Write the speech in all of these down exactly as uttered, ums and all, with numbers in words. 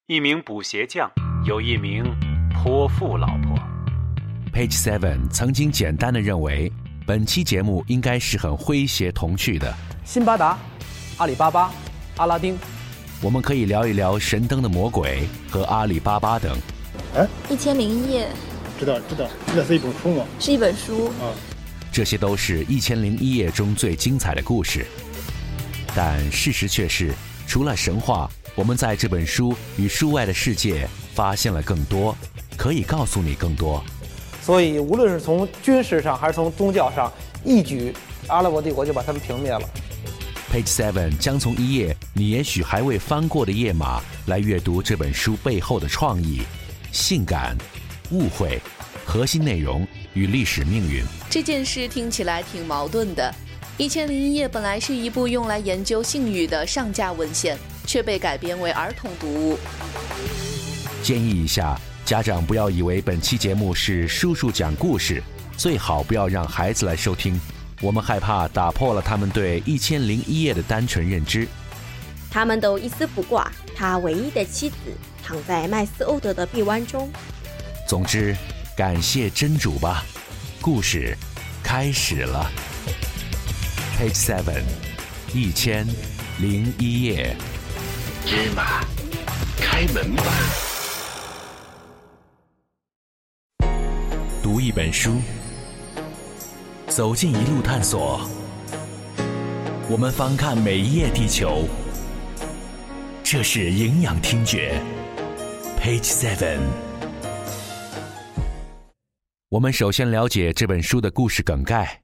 一名补鞋匠有一名泼妇老婆。 Page Seven 曾经简单地认为本期节目应该是很诙谐童趣的， 辛巴达、阿里巴巴、阿拉丁， 我们可以聊一聊神灯的魔鬼和阿里巴巴等。 哎， 一千零一夜， 知道知道，那是一本书吗？ 是一本书啊。 这些都是一千零一夜中最精彩的故事，但事实却是，除了神话，我们在这本书与书外的世界发现了更多，可以告诉你更多。 所以无论是从军事上还是从宗教上，一举阿拉伯帝国就把他们平灭了。 Page Seven 将从一页你也许还未翻过的页码来阅读这本书背后的创意、性感、误会、核心内容与历史命运。 这件事听起来挺矛盾的。一千零一夜本来是一部用来研究性欲的上架文献，却被改编为儿童读物。 建议一下，家长不要以为本期节目是叔叔讲故事，最好不要让孩子来收听，我们害怕打破了他们对一千零一夜的单纯认知。 他们都一丝不挂，他唯一的妻子躺在麦斯欧德的臂弯中。 总之，感谢真主吧，故事开始了。Page Seven， 一千零一夜。 芝麻，开门吧。 读一本书，走进一路探索，我们翻看每一页地球。这是营养听觉 Page Seven。 我们首先了解这本书的故事梗概。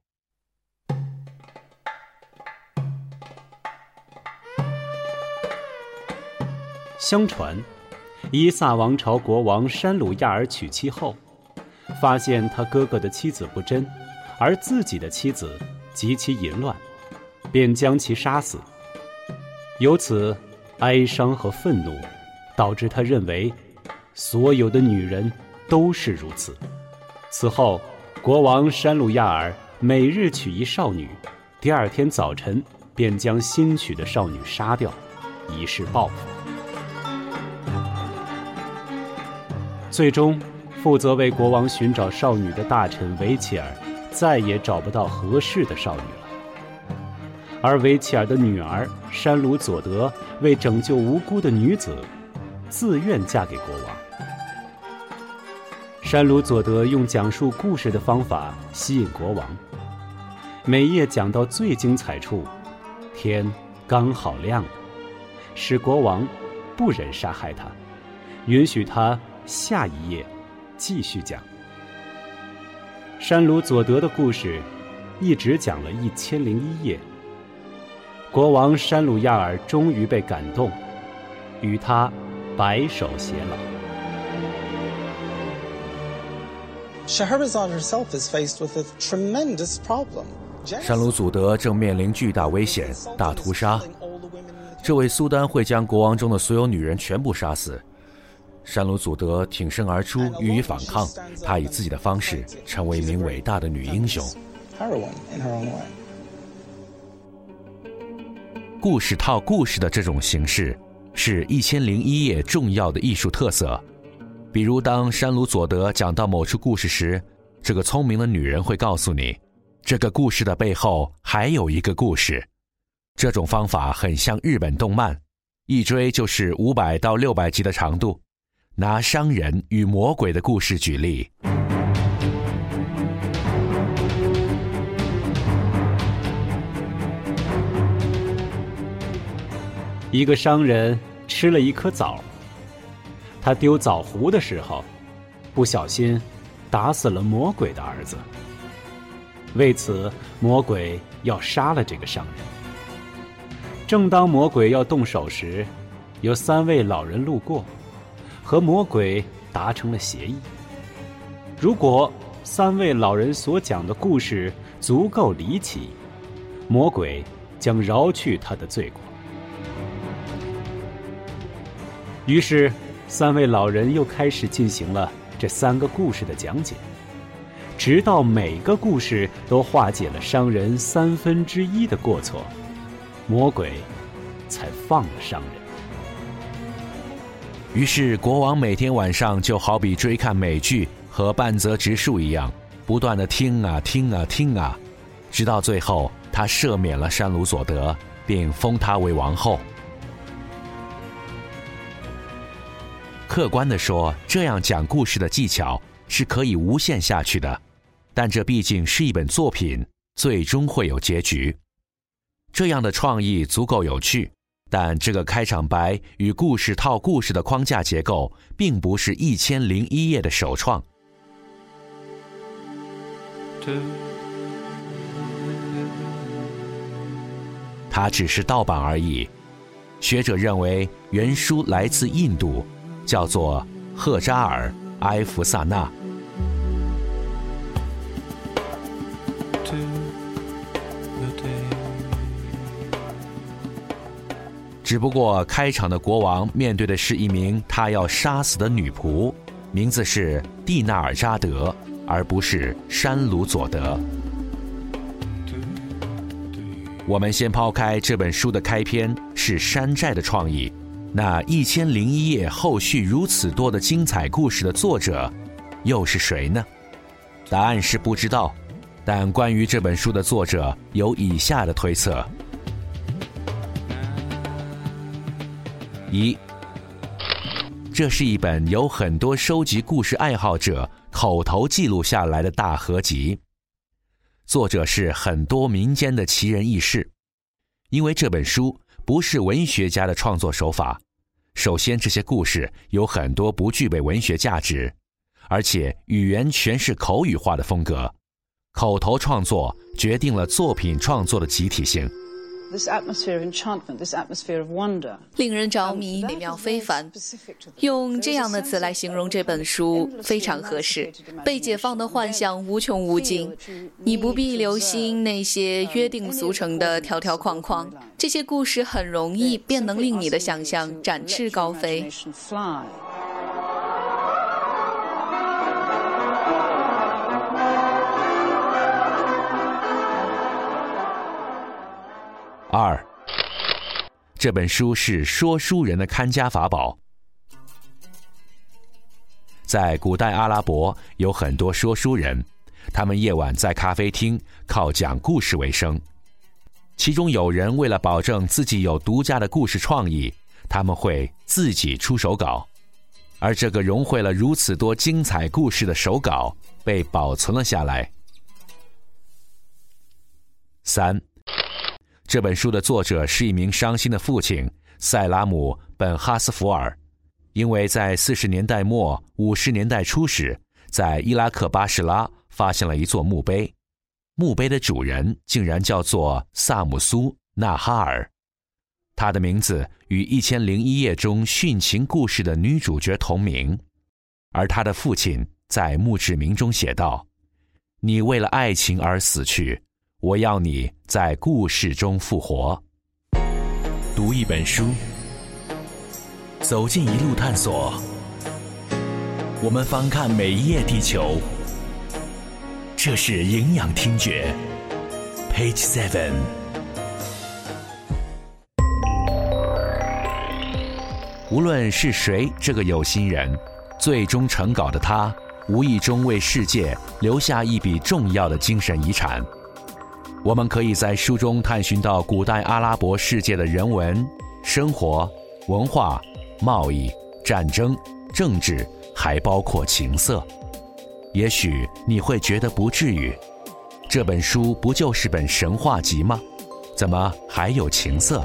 相传，伊萨王朝国王山鲁亚尔娶妻后，发现他哥哥的妻子不贞，而自己的妻子极其淫乱，便将其杀死。由此，哀伤和愤怒导致他认为所有的女人都是如此。此后，国王山鲁亚尔每日娶一少女，第二天早晨便将新娶的少女杀掉，以示报复。最终，负责为国王寻找少女的大臣维切尔再也找不到合适的少女了，而维切尔的女儿山鲁佐德为拯救无辜的女子，自愿嫁给国王。山鲁佐德用讲述故事的方法吸引国王，每页讲到最精彩处，天刚好亮了，使国王不忍杀害他，允许他下一页继续讲。山鲁佐德的故事一直讲了一千零一夜，国王山鲁亚尔终于被感动，与他白首偕老。 Shahrazad herself is faced with a tremendous problem. 山鲁祖德正面临巨大危险，大屠杀。这位苏丹会将国王中的所有女人全部杀死。山鲁祖德挺身而出，予以反抗。她以自己的方式成为一名伟大的女英雄。故事套故事的这种形式，是一千零一夜重要的艺术特色。比如，当山鲁佐德讲到某处故事时，这个聪明的女人会告诉你，这个故事的背后还有一个故事。这种方法很像日本动漫，一追就是五百到六百集的长度。拿商人与魔鬼的故事举例， 一个商人吃了一颗枣，他丢枣核的时候，不小心打死了魔鬼的儿子。为此，魔鬼要杀了这个商人。正当魔鬼要动手时，有三位老人路过，和魔鬼达成了协议，如果三位老人所讲的故事足够离奇，魔鬼将饶去他的罪过。于是，三位老人又开始进行了这三个故事的讲解，直到每个故事都化解了商人三分之一的过错，魔鬼才放了商人。 于是国王每天晚上就好比追看美剧和半泽直树一样，不断地听啊听啊听啊，直到最后他赦免了山鲁佐德，并封她为王后。客观地说，这样讲故事的技巧是可以无限下去的，但这毕竟是一本作品，最终会有结局。这样的创意足够有趣，但这个开场白与故事套故事的框架结构并不是一千零一夜的首创。它只是盗版而已。学者认为原书来自印度，叫做赫扎尔埃弗萨纳。只不过开场的国王面对的是一名他要杀死的女仆，名字是蒂纳尔扎德，而不是山鲁佐德。我们先抛开这本书的开篇是山寨的创意，那一千零一夜后续如此多的精彩故事的作者又是谁呢？答案是不知道，但关于这本书的作者有以下的推测：一，这是一本有很多收集故事爱好者口头记录下来的大合集，作者是很多民间的奇人异事。因为这本书不是文学家的创作手法，首先这些故事有很多不具备文学价值，而且语言全是口语化的风格，口头创作决定了作品创作的集体性。 This atmosphere of enchantment, this atmosphere of wonder. 令人着迷，美妙非凡。用这样的词来形容这本书非常合适。被解放的幻想无穷无尽，你不必留心那些约定俗成的条条框框，这些故事很容易便能令你的想象展翅高飞。 二，这本书是说书人的看家法宝。在古代阿拉伯有很多说书人，他们夜晚在咖啡厅靠讲故事为生。其中有人为了保证自己有独家的故事创意，他们会自己出手稿，而这个融汇了如此多精彩故事的手稿被保存了下来。三，这本书的作者是一名伤心的父亲塞拉姆·本哈斯福尔，因为在四十年代末五十年代初时，在伊拉克巴士拉发现了一座墓碑，墓碑的主人竟然叫做萨姆苏·纳哈尔，他的名字与《一千零一夜》中殉情故事的女主角同名，而他的父亲在墓志铭中写道：你为了爱情而死去，我要你在故事中复活。读一本书，走进一路探索，我们翻看每一页地球。这是营养听觉 Page Seven。无论是谁，这个有心人，最终成稿的他，无意中为世界留下一笔重要的精神遗产。我们可以在书中探寻到古代阿拉伯世界的人文、生活、文化、贸易、战争、政治，还包括情色。也许你会觉得不至于，这本书不就是本神话集吗？怎么还有情色？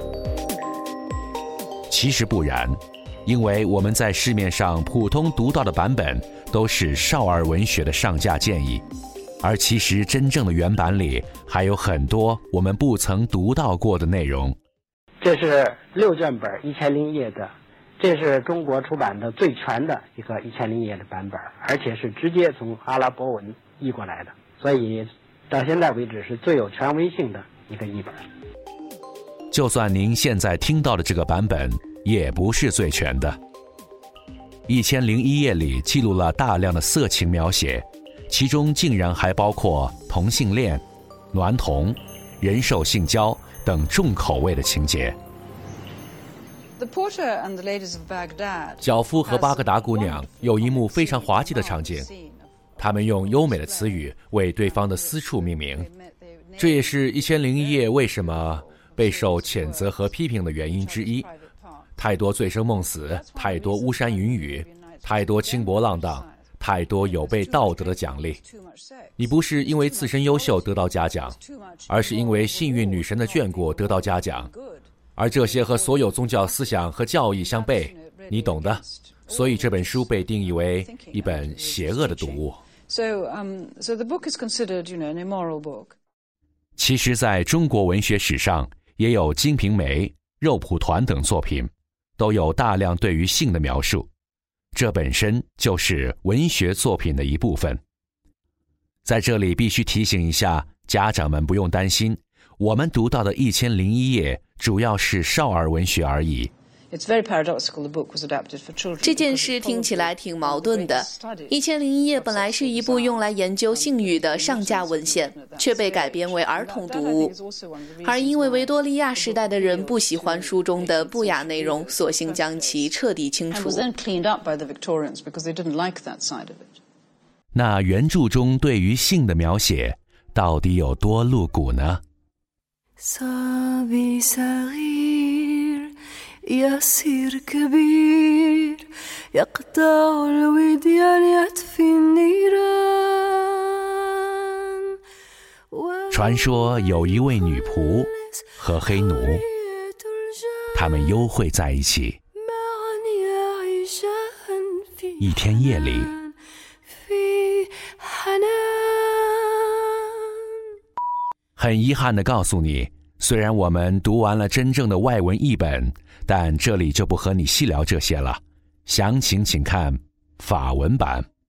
其实不然，因为我们在市面上普通读到的版本都是少儿文学的上架建议，而其实真正的原版里还有很多我们不曾读到过的内容。 这是六卷本一千零一夜的，这是中国出版的最全的一个一千零一夜的版本，而且是直接从阿拉伯文译过来的，所以到现在为止是最有权威性的一个译本。 就算您现在听到的这个版本也不是最全的。一千零一夜里记录了大量的色情描写，其中竟然还包括同性恋、娈童、人兽性交等重口味的情节。 脚夫和巴格达姑娘有一幕非常滑稽的场景，他们用优美的词语为对方的私处命名，这也是一千零一夜为什么备受谴责和批评的原因之一。太多醉生梦死，太多巫山云雨，太多轻薄浪荡，太多有悖道德的奖励。你不是因为自身优秀得到嘉奖，而是因为幸运女神的眷顾得到嘉奖，而这些和所有宗教思想和教义相悖，你懂的。所以这本书被定义为一本邪恶的读物。其实在中国文学史上，也有《金瓶梅》、《肉蒲团》等作品，都有大量对于性的描述，这本身就是文学作品的一部分。在这里必须提醒一下家长们，不用担心，我们读到的一千零一夜主要是少儿文学而已。 这件事听起来挺矛盾的。一千零一夜本来是一部用来研究性欲的上架文献，却被改编为儿童读物。而因为维多利亚时代的人不喜欢书中的不雅内容，索性将其彻底清除。 那原著中对于性的描写到底有多露骨呢？ يصير كبير يقطع الوديان يطفي النيران 传说有一位女仆和黑奴，他们幽会在一起。一天夜里，很遗憾地告诉你，虽然我们读完了真正的外文译本，但这里就不和你细聊这些了，详情请看法文版。